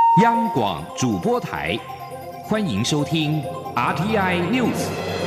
央广主播台，欢迎收听 RTI News。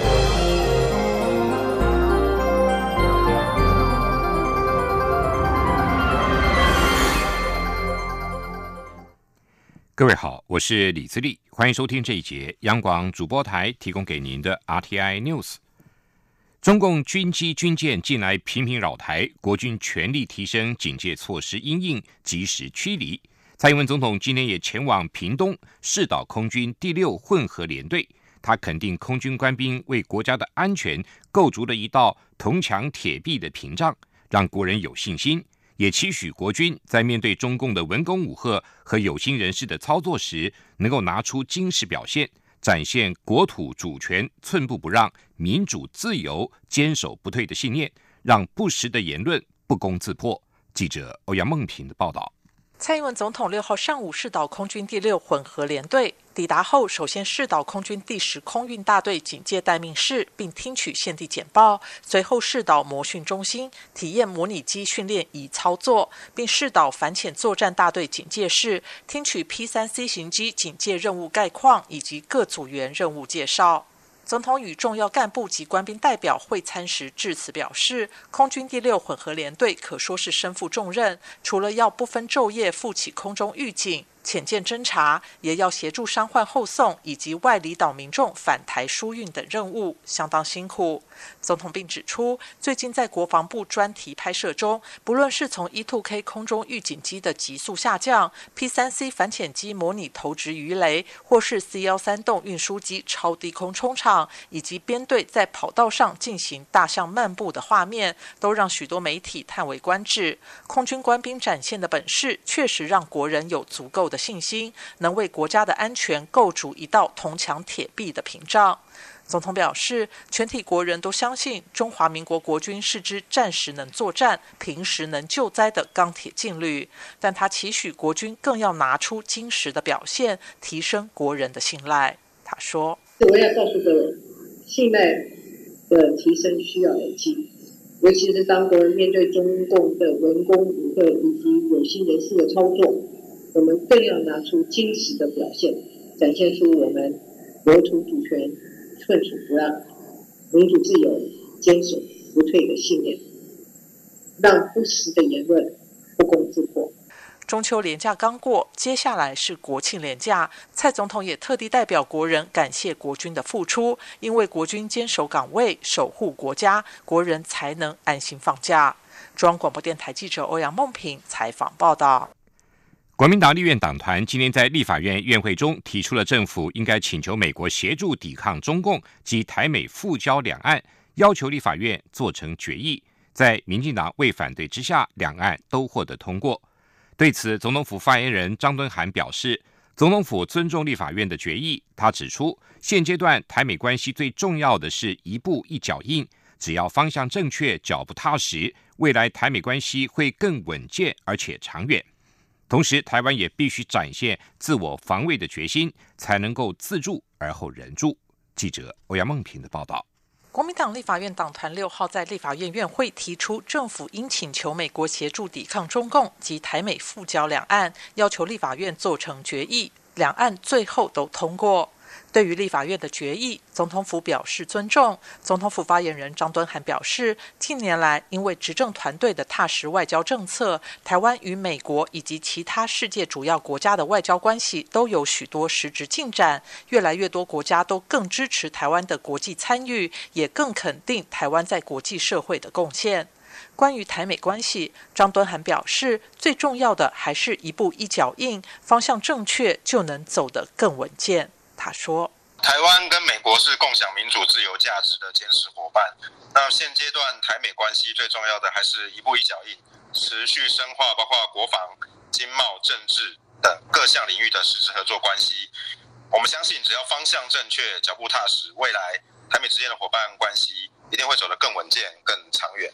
各位好，我是李自立，欢迎收听这一节央广主播台提供给您的 RTI News。中共军机军舰近来频频扰台，国军全力提升警戒措施因应，及时驱离。蔡英文总统今天也前往屏东视导空军第6混合联队，他肯定空军官兵为国家的安全构筑了一道铜墙铁壁的屏障，让国人有信心，也期许国军在面对中共的文攻武吓和有心人士的操作时，能够拿出精实表现，展现国土主权寸步不让、民主自由坚守不退的信念，让不实的言论不攻自破。记者欧阳梦平的报道。 蔡英文总统6号上午视导空军第6混合联队，抵达后首先视导空军第10空运大队警戒待命室，并听取现地简报，随后视导模训中心，体验模拟机训练仪操作，并视导反潜作战大队警戒室，听取 P3C 型机警戒任务概况以及各组员任务介绍。总统与重要干部及官兵代表会餐时致辞表示，空军第6混合联队可说是身负重任，除了要不分昼夜负起空中预警、潜舰侦察，也要协助伤患后送以及外离岛民众返台疏运等任务，相当辛苦。总统并指出，最近在国防部专题拍摄中，不论是从 E2K 空中预警机的急速下降、P3C 反潜机模拟投掷鱼雷，或是 C13洞运输机超低空冲场，以及编队在跑道上进行大象漫步的画面，都让许多媒体叹为观止。空军官兵展现的本事，确实让国人有足够的信心，能为国家的安全构筑一道铜墙铁壁的屏障。总统表示，全体国人都相信中华民国国军是支战时能作战、平时能救灾的钢铁劲旅，但他期许国军更要拿出精实的表现，提升国人的信赖。他说：“ 我要告诉各位，信赖的提升需要累积，尤其是当国人面对中共的文攻武吓以及有心人士的操作，我们更要拿出精实的表现，展现出我们国土主权寸土不让、民主自由坚守不退的信念，让不实的言论不攻自破。” 中秋连假刚过，接下来是国庆连假，蔡总统也特地代表国人感谢国军的付出，因为国军坚守岗位、守护国家，国人才能安心放假。中央广播电台记者欧阳梦平采访报道。 国民党立院党团今天在立法院院会中提出了政府应该请求美国协助抵抗中共及台美复交两岸，要求立法院做成决议。在民进党未反对之下，两岸都获得通过。对此，总统府发言人张敦涵表示，总统府尊重立法院的决议。他指出，现阶段台美关系最重要的是一步一脚印，只要方向正确、脚步踏实，未来台美关系会更稳健而且长远。同时，台湾也必须展现自我防卫的决心，才能够自助而后人助。记者欧阳梦平的报道。 国民党立法院党团6号在立法院院会提出，政府应请求美国协助抵抗中共及台美复交两岸，要求立法院做成决议，两岸最后都通过。对于立法院的决议，总统府表示尊重。总统府发言人张敦涵表示，近年来因为执政团队的踏实外交政策，台湾与美国以及其他世界主要国家的外交关系都有许多实质进展，越来越多国家都更支持台湾的国际参与，也更肯定台湾在国际社会的贡献。关于台美关系，张敦涵表示，最重要的还是一步一脚印，方向正确就能走得更稳健。他说， 台湾跟美国是共享民主自由价值的坚实伙伴。那现阶段台美关系最重要的还是一步一脚印，持续深化包括国防、经贸、政治等各项领域的实质合作关系。我们相信，只要方向正确、脚步踏实，未来台美之间的伙伴关系一定会走得更稳健、更长远。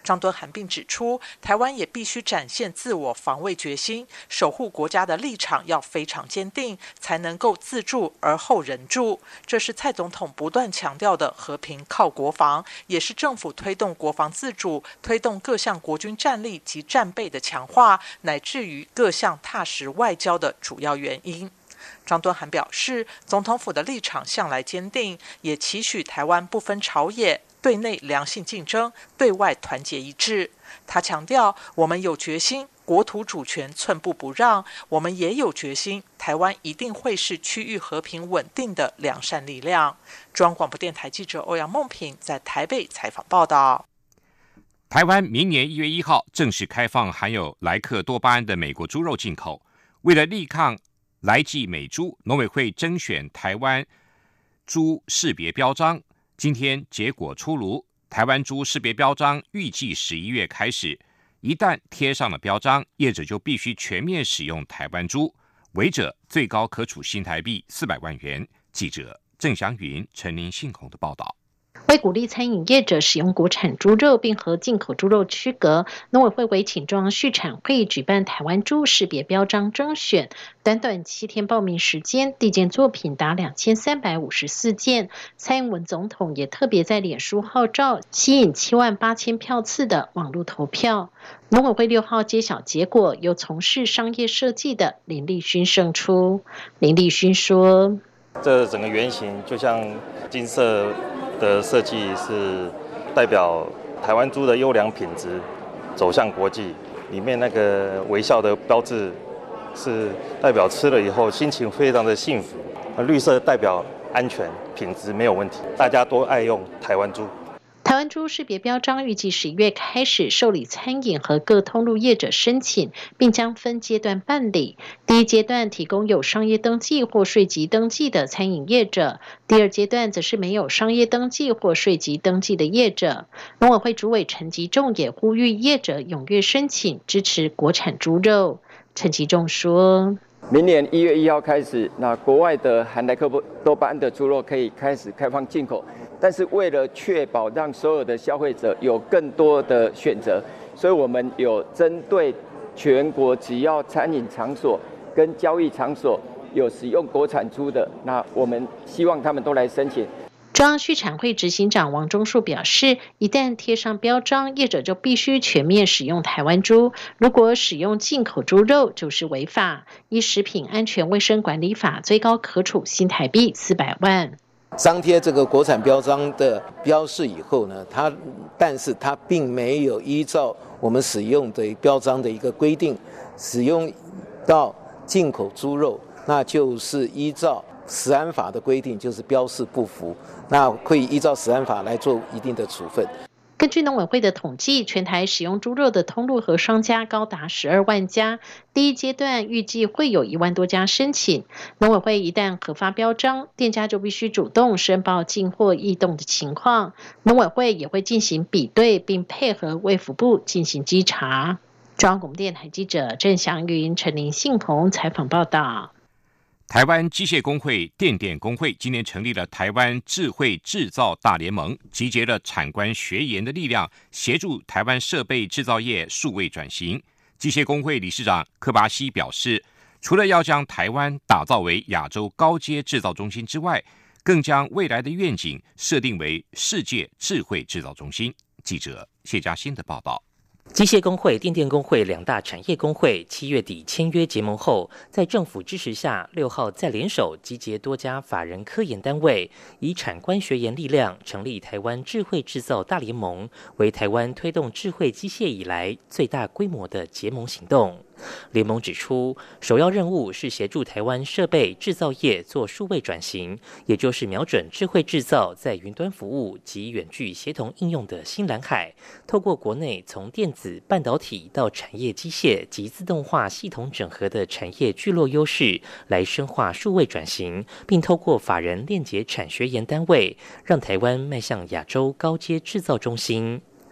张敦涵并指出，台湾也必须展现自我防卫决心，守护国家的立场要非常坚定，才能够自助而后人助。这是蔡总统不断强调的和平靠国防，也是政府推动国防自主、推动各项国军战力及战备的强化，乃至于各项踏实外交的主要原因。张敦涵表示，总统府的立场向来坚定，也期许台湾不分朝野，对内良性竞争，对外团结一致。他强调，我们有决心，国土主权寸步不让，我们也有决心，台湾一定会是区域和平稳定的良善力量。中央广播电台记者欧阳梦平在台北采访报道。 台湾明年1月1号正式开放含有莱克多巴胺的美国猪肉进口。为了力抗来记美猪，农委会甄选台湾猪识别标章，今天结果出炉。台湾猪识别标章预计11月开始，一旦贴上了标章，业者就必须全面使用台湾猪，违者最高可处新台币400万元。记者郑祥云、陈林信宏的报道。 为鼓励餐饮业者使用国产猪肉并和进口猪肉区隔，农委会委请中央畜产会举办台湾猪识别标章征选，短短7天报名时间，递件作品达2354件。蔡英文总统也特别在脸书号召，吸引78000票次的网络投票。农委会6号揭晓结果，由从事商业设计的林立勋胜出。林立勋说：“ 这整个原型就像金色的设计是代表台湾猪的优良品质走向国际，里面那个微笑的标志是代表吃了以后心情非常的幸福，绿色代表安全品质没有问题，大家都爱用台湾猪。” 台湾猪识别标章预计11月开始受理餐饮和各通路业者申请，并将分阶段办理。第一阶段提供有商业登记或税籍登记的餐饮业者，第二阶段则是没有商业登记或税籍登记的业者。农委会主委陈吉仲也呼吁业者踊跃申请，支持国产猪肉。陈吉仲说：“ 明年1月1号开始，那国外的含莱克多巴胺的猪肉可以开始开放进口，但是为了确保让所有的消费者有更多的选择，所以我们有针对全国只要餐饮场所跟交易场所有使用国产猪的，那我们希望他们都来申请。” 中央畜产会执行长王忠树表示，一旦贴上标章，业者就必须全面使用台湾猪，如果使用进口猪肉就是违法，依食品安全卫生管理法最高可处新台币400万。 张贴这个国产标章的标示以后呢，但是它并没有依照我们使用的标章的一个规定，使用到进口猪肉，那就是依照食安法的规定，就是标示不符，那会依照食安法来做一定的处分。 根据农委会的统计，全台使用猪肉的通路和商家高达12万家，第一阶段预计会有1万多家申请。农委会一旦核发标章，店家就必须主动申报进货异动的情况，农委会也会进行比对，并配合卫福部进行稽查。中央广播电台记者郑祥云、陈林信宏采访报道。 台湾机械工会电电工会今年成立了台湾智慧制造大联盟，集结了产官学研的力量，协助台湾设备制造业数位转型。机械工会理事长柯巴西表示，除了要将台湾打造为亚洲高阶制造中心之外，更将未来的愿景设定为世界智慧制造中心。记者谢嘉欣的报道。 机械工会、电电工会两大产业工会7月底签约结盟后，在政府支持下，6号再联手集结多家法人科研单位，以产官学研力量成立台湾智慧制造大联盟，为台湾推动智慧机械以来最大规模的结盟行动。联盟指出，首要任务是协助台湾设备制造业做数位转型，也就是瞄准智慧制造在云端服务及远距协同应用的新蓝海，透过国内从电子、半导体到产业机械及自动化系统整合的产业聚落优势，来深化数位转型，并透过法人链结产学研单位，让台湾迈向亚洲高阶制造中心。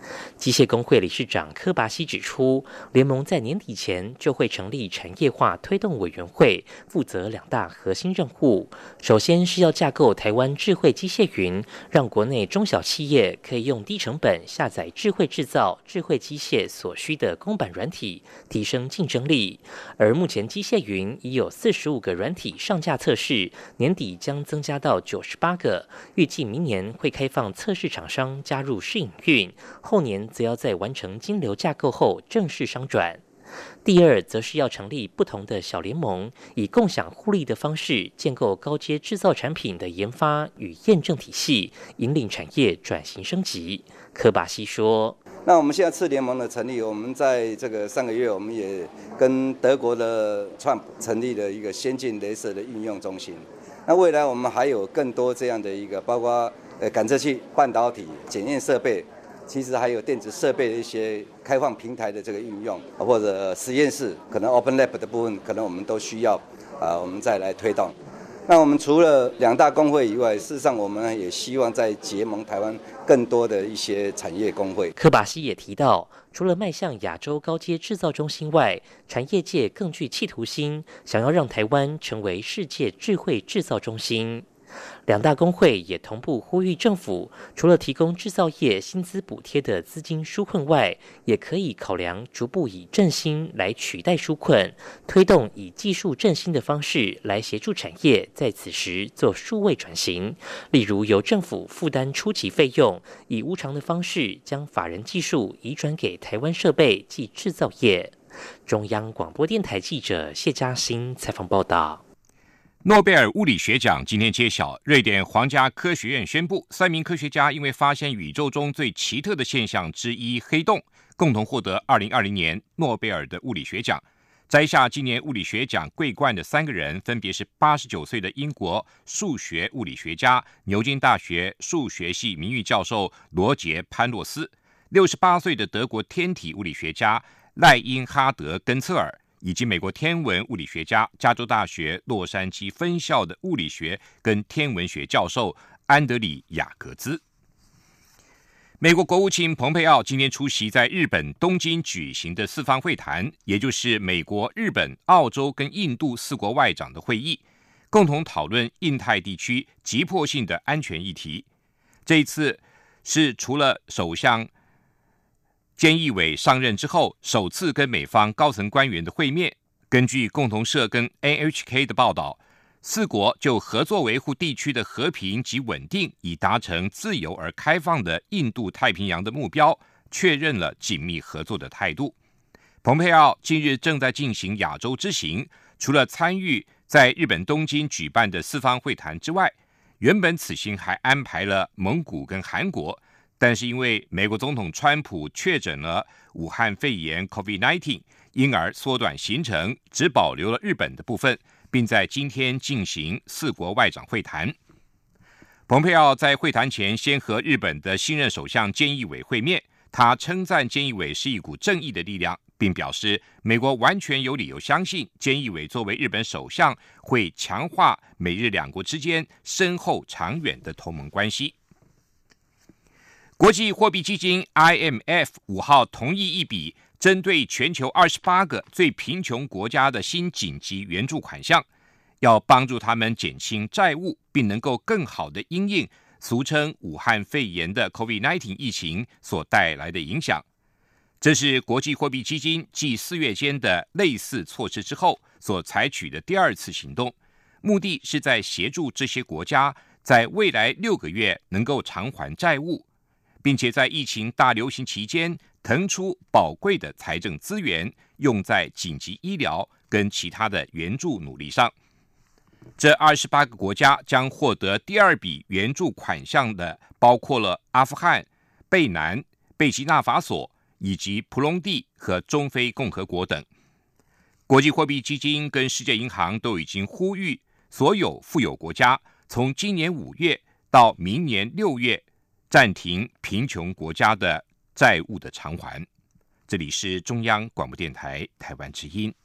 机械工会理事长柯拔西指出，联盟在年底前就会成立产业化推动委员会，负责2大核心任务。首先是要架构台湾智慧机械云，让国内中小企业可以用低成本下载智慧制造、智慧机械所需的公版软体，提升竞争力。而目前机械云已有45个软体上架测试，年底将增加到98个，预计明年会开放测试厂商加入试营运，后年则要在完成金流架构后正式商转。第二，则是要成立不同的小联盟，以共享互利的方式建构高阶制造产品的研发与验证体系，引领产业转型升级。柯拔西说：“ 那我们现在次联盟的成立，我们在这个上个月，我们也跟德国的Trump成立了一个先进雷射的运用中心。那未来我们还有更多这样的一个，包括感测器、半导体、检验设备。”其实还有电子设备的一些开放平台的这个运用，或者实验室可能 Open Lab 的部分，可能我们都需要我们再来推动。那我们除了2大工会以外，事实上我们也希望在结盟台湾更多的一些产业工会。 柯拔西也提到，除了迈向亚洲高阶制造中心外，产业界更具企图心，想要让台湾成为世界智慧制造中心。2大工会也同步呼吁政府，除了提供制造业薪资补贴的资金纾困外，也可以考量逐步以振兴来取代纾困，推动以技术振兴的方式来协助产业在此时做数位转型。例如由政府负担初期费用，以无偿的方式将法人技术移转给台湾设备及制造业。中央广播电台记者谢嘉欣采访报道。 诺贝尔物理学奖今天揭晓，瑞典皇家科学院宣布，3名科学家因为发现宇宙中最奇特的现象之一黑洞，共同获得2020年诺贝尔的物理学奖。摘下今年物理学奖桂冠的3个人，分别是89岁的英国数学物理学家、牛津大学数学系名誉教授罗杰·潘洛斯，68岁的德国天体物理学家赖因哈德·根策尔，以及美国天文物理学家、加州大学洛杉矶分校的物理学跟天文学教授安德里亚格兹。美国国务卿蓬佩奥今天出席在日本东京举行的4方会谈，也就是美国、日本、澳洲跟印度4国外长的会议，共同讨论印太地区急迫性的安全议题。这一次是除了首相菅义伟上任之后首次跟美方高层官员的会面。根据共同社跟 NHK 的报道，4国就合作维护地区的和平及稳定，以达成自由而开放的印度太平洋的目标，确认了紧密合作的态度。蓬佩奥近日正在进行亚洲之行，除了参与在日本东京举办的4方会谈之外，原本此行还安排了蒙古跟韩国，但是因为美国总统川普确诊了武汉肺炎 COVID-19， 因而缩短行程，只保留了日本的部分，并在今天进行4国外长会谈。蓬佩奥在会谈前先和日本的新任首相菅义伟会面，他称赞菅义伟是一股正义的力量，并表示美国完全有理由相信菅义伟作为日本首相会强化美日2国之间深厚长远的同盟关系。国际货币基金 IMF 5号同意一笔针对全球28个最贫穷国家的新紧急援助款项，要帮助他们减轻债务，并能够更好的因应俗称武汉肺炎的 COVID-19 疫情所带来的影响。这是国际货币基金继4月间的类似措施之后所采取的第2次行动，目的是在协助这些国家在未来6个月能够偿还债务，并且在疫情大流行期间腾出宝贵的财政资源，用在紧急医疗跟其他的援助努力上。这28个国家将获得第2笔援助款项的，包括了阿富汗、贝南、贝基纳法索以及蒲隆地和中非共和国等。国际货币基金跟世界银行都已经呼吁所有富有国家从今年5月到明年6月暂停贫穷国家的债务的偿还。这里是中央广播电台台湾之音。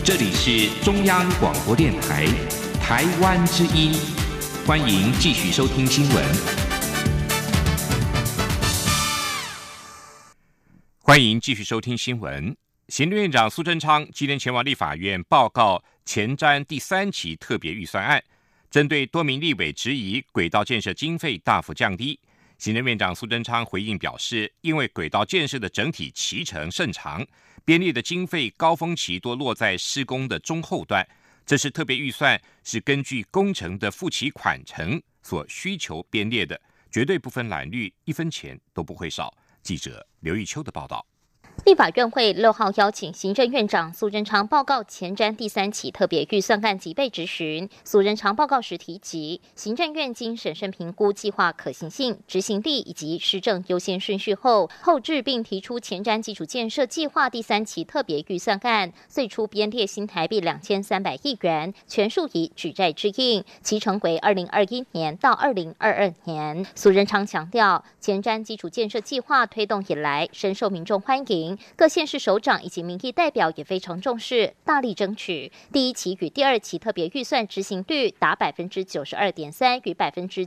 这里是中央广播电台台湾之音，欢迎继续收听新闻。欢迎继续收听新闻。行政院长苏贞昌今天前往立法院报告前瞻第3期特别预算案，针对多名立委质疑轨道建设经费大幅降低，行政院长苏贞昌回应表示，因为轨道建设的整体期程甚长，编列的经费高峰期多落在施工的中后段，这是特别预算是根据工程的付期款程所需求编列的，绝对不分蓝绿，1分钱都不会少。记者刘玉秋的报道。 立法院会6号邀请行政院长苏贞昌报告前瞻第3期特别预算案及被质询。苏贞昌报告时提及，行政院经审慎评估计划可行性、执行力以及施政优先顺序后置并提出前瞻基础建设计划第3期特别预算案，最初编列新台币2300亿元，全数以举债支应，期程为2021年到2022年。苏贞昌强调，前瞻基础建设计划推动以来，深受民众欢迎。各县市首长以及民意代表也非常重视，大力争取第1期与第2期特别预算执行率达 92.3% 与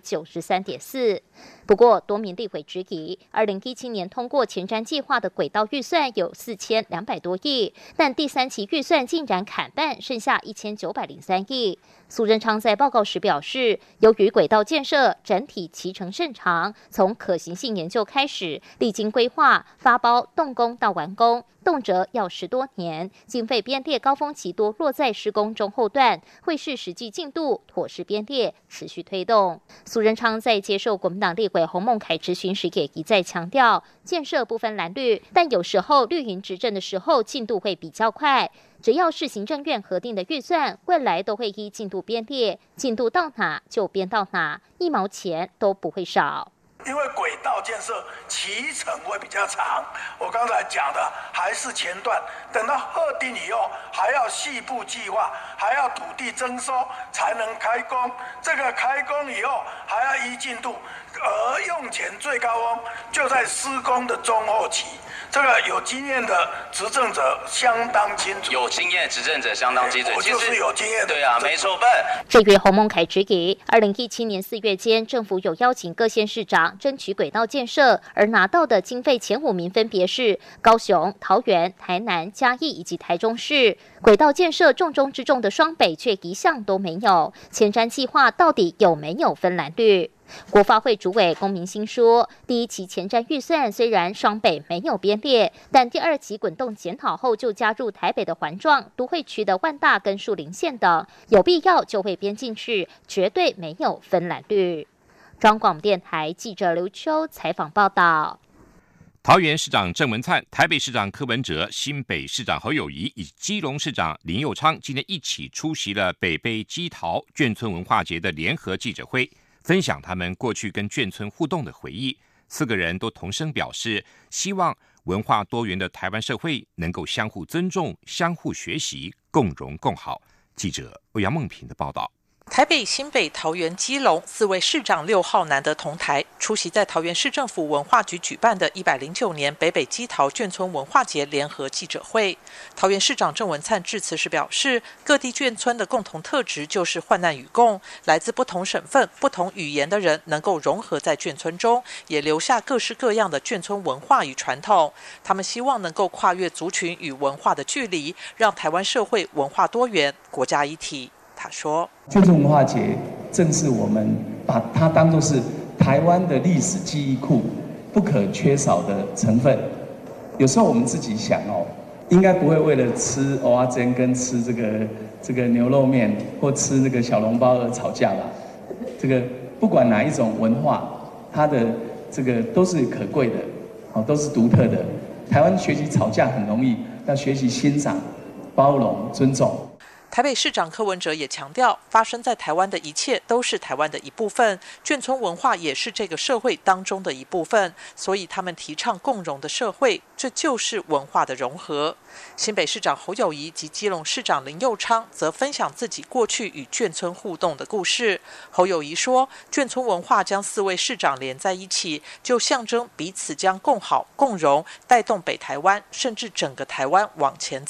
93.4%。不过，多名立委质疑，2017年通过前瞻计划的轨道预算有4200多亿，但第3期预算竟然砍半，剩下1903亿。苏贞昌在报告时表示，由于轨道建设整体期程甚长，从可行性研究开始，历经规划、发包、动工到完工，动辄要10多年，经费编列高峰期多落在施工中后段，会视实际进度妥适编列，持续推动。苏贞昌在接受国民党立委洪孟凯质询时也一再强调，建设不分蓝绿，但有时候绿营执政的时候进度会比较快，只要是行政院核定的预算，未来都会依进度编列，进度到哪就编到哪，1毛钱都不会少。 因为轨道建设期程会比较长，我刚才讲的还是前段，等到核定以后，还要细部计划，还要土地征收才能开工。这个开工以后还要依进度，而用钱最高峰就在施工的中后期。这个有经验的执政者相当清楚， 有经验执政者相当清楚， 我就是有经验的。 对啊，没错笨。 至于洪孟凯质疑，2017年4月间，政府有邀请各县市长争取轨道建设，而拿到的经费前5名分别是高雄、桃园、台南、嘉义以及台中市。轨道建设重中之重的双北却一项都没有，前瞻计划到底有没有分蓝绿？国发会主委龚明鑫说，第1期前瞻预算虽然双北没有编列，但第2期滚动检讨后就加入台北的环状、都会区的万大跟树林县等，有必要就会编进去，绝对没有分蓝绿。中央广播电台记者刘秋采访报道。 桃园市长郑文灿、台北市长柯文哲、新北市长侯友宜以及基隆市长林右昌今天一起出席了北碚基桃眷村文化节的联合记者会，分享他们过去跟眷村互动的回忆。4个人都同声表示，希望文化多元的台湾社会能够相互尊重、相互学习、共荣共好。记者欧阳梦平的报道。 台北、新北、桃园、基隆4位市长6号难得同台，出席在桃园市政府文化局举办的109年北碚基桃眷村文化节联合记者会。桃园市长郑文灿致辞时表示，各地眷村的共同特质就是患难与共，来自不同省份、不同语言的人能够融合在眷村中，也留下各式各样的眷村文化与传统。他们希望能够跨越族群与文化的距离，让台湾社会文化多元、国家一体。他说， 眷村文化节正是我们把它当作是台湾的历史记忆库不可缺少的成分。有时候我们自己想应该不会为了吃蚵仔煎跟吃这个牛肉面或吃这个小笼包而吵架吧。这个不管哪一种文化，它的这个都是可贵的，都是独特的。台湾学习吵架很容易，要学习欣赏、包容、尊重。 台北市长柯文哲也强调，发生在台湾的一切都是台湾的一部分，眷村文化也是这个社会当中的一部分，所以他们提倡共融的社会，这就是文化的融合。新北市长侯友宜及基隆市长林右昌则分享自己过去与眷村互动的故事。侯友宜说，眷村文化将4位市长连在一起，就象征彼此将共好共荣，带动北台湾甚至整个台湾往前走。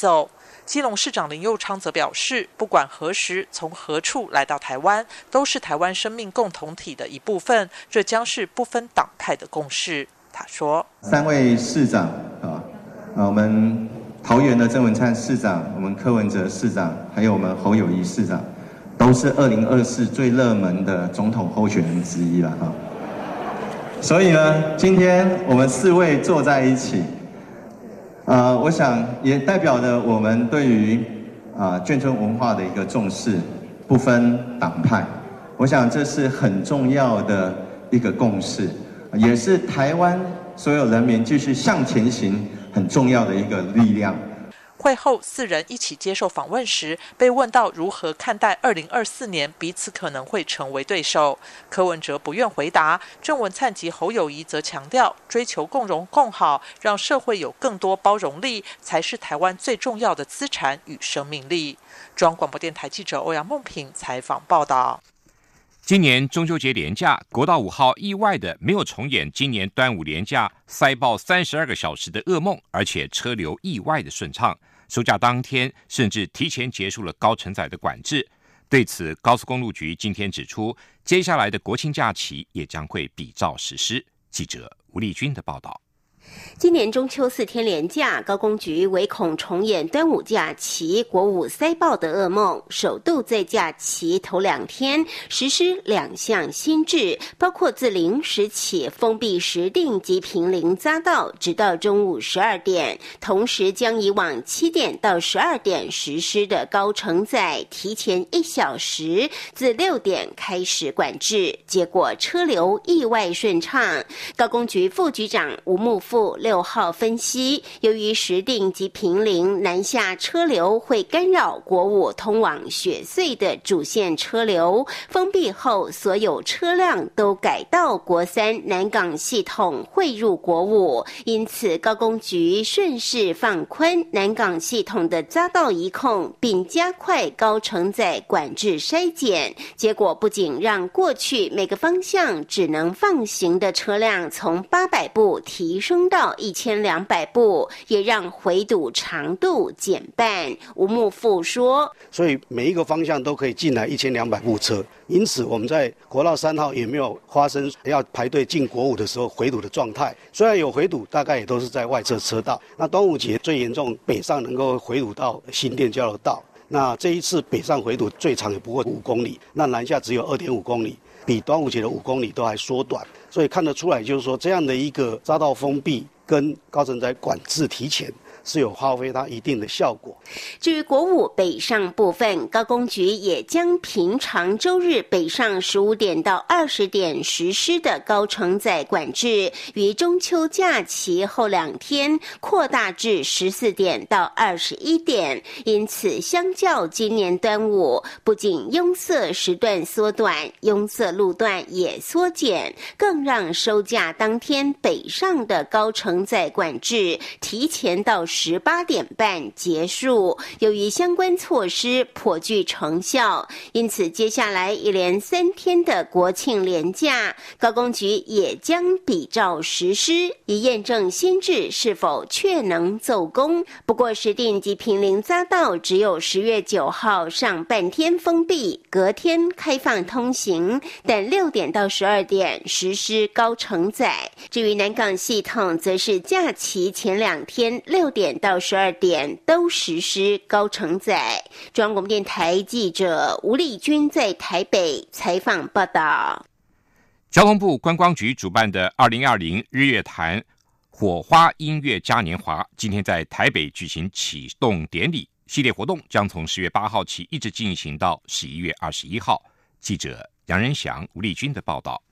基隆市长林右昌则表示，不管何时从何处来到台湾，都是台湾生命共同体的一部分，这将是不分党派的共识。他说 ：3位市长我们桃园的郑文灿市长，我们柯文哲市长，还有我们侯友宜市长，都是2024最热门的总统候选人之一了哈。所以呢，今天我们4位坐在一起，我想也代表了我们对于眷村文化的一个重视，不分党派。我想这是很重要的一个共识，也是台湾所有人民继续向前行很重要的一个力量。 会后4人一起接受访问时，被问到如何看待2024年彼此可能会成为对手，柯文哲不愿回答，郑文灿及侯友宜则强调，追求共荣共好，让社会有更多包容力，才是台湾最重要的资产与生命力。中央广播电台记者欧阳梦平采访报道。 今年中秋节连假，国道5号意外的没有重演今年端午连假塞爆32个小时的噩梦，而且车流意外的顺畅。收假当天甚至提前结束了高承载的管制。对此，高速公路局今天指出，接下来的国庆假期也将会比照实施。记者吴丽君的报道。 今年中秋4天连假，高公局唯恐重演端午假期国五塞爆的噩梦，首度在假期头2天实施2项新制，包括自0时起封闭石碇及坪林匝道，直到中午12点，同时将以往7点到12点实施的高承载提前1小时，自6点开始管制，结果车流意外顺畅。高公局副局长吴木富6号分析，由于石碇及坪林南下车流会干扰国五通往雪隧的主线车流，封闭后所有车辆都改到国3南港系统汇入国五，因此高公局顺势放宽南港系统的匝道移控，并加快高承载管制筛检，结果不仅让过去每个方向只能放行的车辆从800部提升到1200部，也让回堵长度减半。吴木富说， 所以每一个方向都可以进来1200部车，因此我们在国道3号也没有发生要排队进国五的时候回堵的状态。虽然有回堵，大概也都是在外侧车道。那端午节最严重，北上能够回堵到新店交流道。那这一次北上回堵最长也不过5公里，那南下只有2.5公里，比端午节的5公里都还缩短。所以看得出来，就是说这样的一个匝道封闭跟高承载管制提前，是有发挥它一定的效果。 至于国五北上部分，高公局也将平常周日北上15点到20点实施的高承载管制，于中秋假期后2天扩大至14点到21点。因此，相较今年端午，不仅拥塞时段缩短，拥塞路段也缩减，更让收假当天北上的高承载管制提前到18点半结束。由于相关措施颇具成效，因此接下来一连3天的国庆连假，高公局也将比照实施，以验证新制是否确能奏功。不过石碇及坪林匝道只有10月9号上半天封闭，隔天开放通行，但6点到12点实施高承载。至于南港系统，则是假期前2天6点到12点都实施高承载。中央广播电台记者吴丽君在台北采访报道。 交通部观光局主办的2020日月潭火花音乐嘉年华今天在台北举行启动典礼，系列活动将从10月8号起一直进行到11月21号。记者杨仁祥、吴丽君的报道。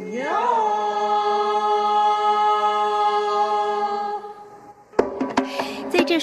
这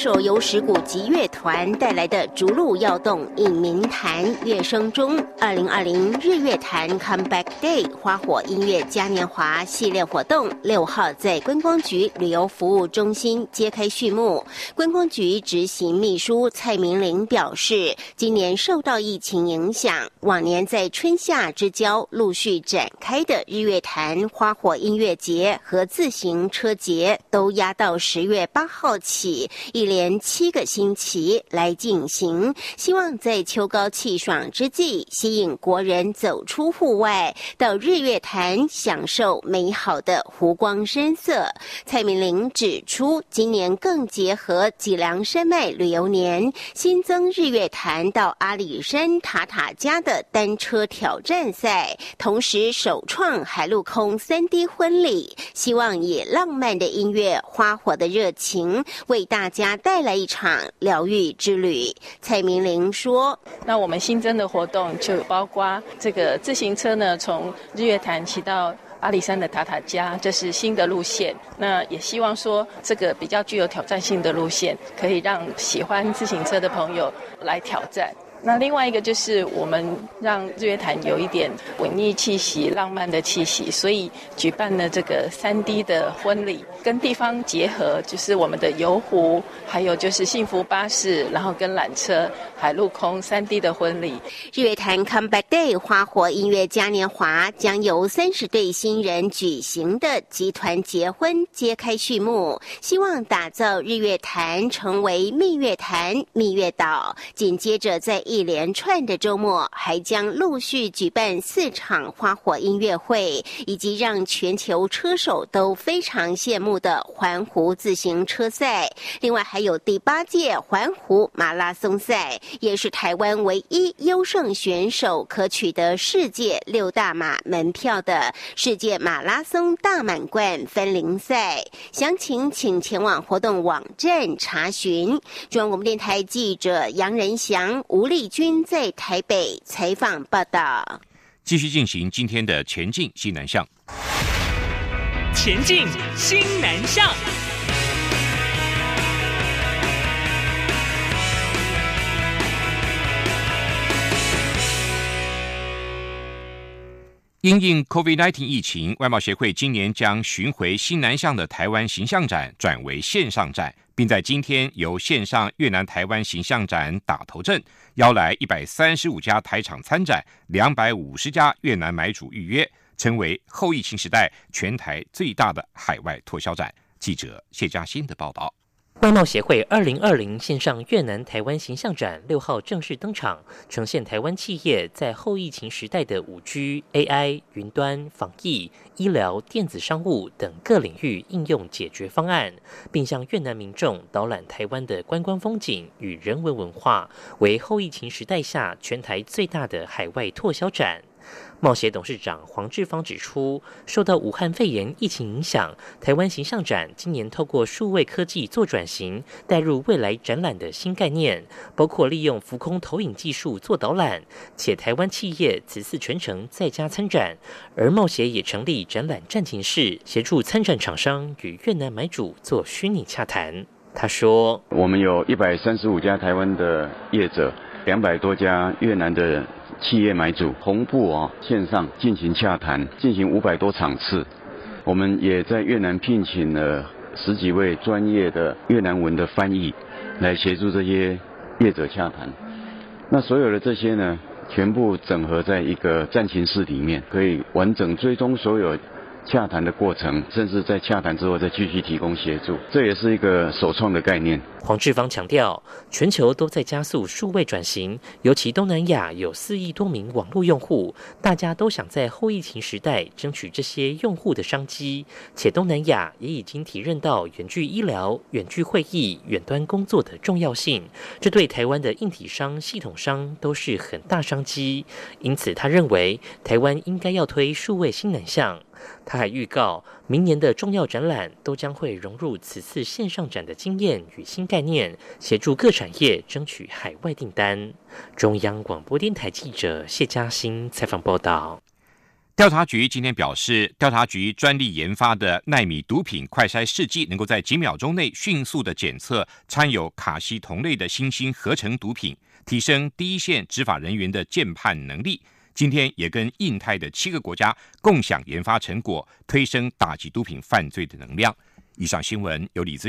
手由石鼓集乐团带来的逐鹿耀动引民坛乐声中，2020日月潭 Comeback Day 花火音乐嘉年华系列活动6号在观光局旅游服务中心揭开序幕。观光局执行秘书蔡明玲表示，今年受到疫情影响，往年在春夏之交陆续展开的日月潭花火音乐节和自行车节都压到10月8号起，一连7个星期来进行，希望在秋高气爽之际，吸引国人走出户外，到日月潭享受美好的湖光山色。蔡明玲指出，今年更结合脊梁山脉旅游年，新增日月潭到阿里山塔塔加的单车挑战赛，同时首创海陆空3D 婚礼，希望以浪漫的音乐、花火的热情，为大家带来一场疗愈之旅。蔡明玲说：“ 那我们新增的活动就包括这个自行车呢，从日月潭骑到阿里山的塔塔加，这是新的路线。那也希望说，这个比较具有挑战性的路线，可以让喜欢自行车的朋友来挑战。”那另外一个就是我们让日月潭有一点文艺气息、浪漫的气息，所以举办了这个3D 的婚礼，跟地方结合，就是我们的游湖，还有就是幸福巴士，然后跟缆车、海陆空3D 的婚礼。 日月潭 Comeback Day 花火音乐嘉年华将由30对新人举行的集团结婚揭开序幕，希望打造日月潭成为蜜月潭、蜜月岛。紧接着在一连串的周末，还将陆续举办4场花火音乐会，以及让全球车手都非常羡慕的环湖自行车赛。另外还有第8届环湖马拉松赛，也是台湾唯一优胜选手可取得世界6大马门票的世界马拉松大满贯分龄赛。详情请前往活动网站查询。中央广播电台记者杨仁祥、吴丽君在台北采访报道。 继续进行今天的前进新南向。 前进新南向。 因应 COVID-19 疫情，外贸协会今年将巡回新南向的台湾形象展转为线上展，并在今天由线上越南台湾形象展打头阵，邀来135家台厂参展，250家越南买主预约，成为后疫情时代全台最大的海外拓销展。记者谢嘉欣的报道。 外贸协会2020线上越南台湾形象展6号正式登场，呈现台湾企业在后疫情时代的5G、AI、云端、防疫、医疗、电子商务等各领域应用解决方案，并向越南民众导览台湾的观光风景与人文文化，为后疫情时代下全台最大的海外拓销展。贸协董事长黄志芳指出，受到武汉肺炎疫情影响，台湾形象展今年透过数位科技做转型，带入未来展览的新概念，包括利用浮空投影技术做导览，且台湾企业此次全程在家参展，而贸协也成立展览战情室，协助参展厂商与越南买主做虚拟洽谈。他说， 我们有135家台湾的业者，200多家越南的企业买主同步线上进行洽谈，进行500多场次。我们也在越南聘请了10几位专业的越南文的翻译，来协助这些业者洽谈。那所有的这些呢，全部整合在一个战情室里面，可以完整追踪所有洽谈的过程，甚至在洽谈之后再继续提供协助，这也是一个首创的概念。 黄志芳强调，全球都在加速数位转型，尤其东南亚有4亿多名网络用户，大家都想在后疫情时代争取这些用户的商机，且东南亚也已经体认到远距医疗、远距会议、远端工作的重要性，这对台湾的硬体商、系统商都是很大商机。因此他认为台湾应该要推数位新南向。他还预告，明年的重要展览都将会融入此次线上展的经验与新概念，协助各产业争取海外订单。中央广播电台记者谢嘉欣采访报道。 调查局今天表示，调查局专利研发的奈米毒品快筛试剂能够在几秒钟内迅速的检测掺有卡西酮类的新兴合成毒品，提升第一线执法人员的鉴判能力。今天也跟印太的7个国家共享研发成果，推升打击毒品犯罪的能量。以上新闻由李子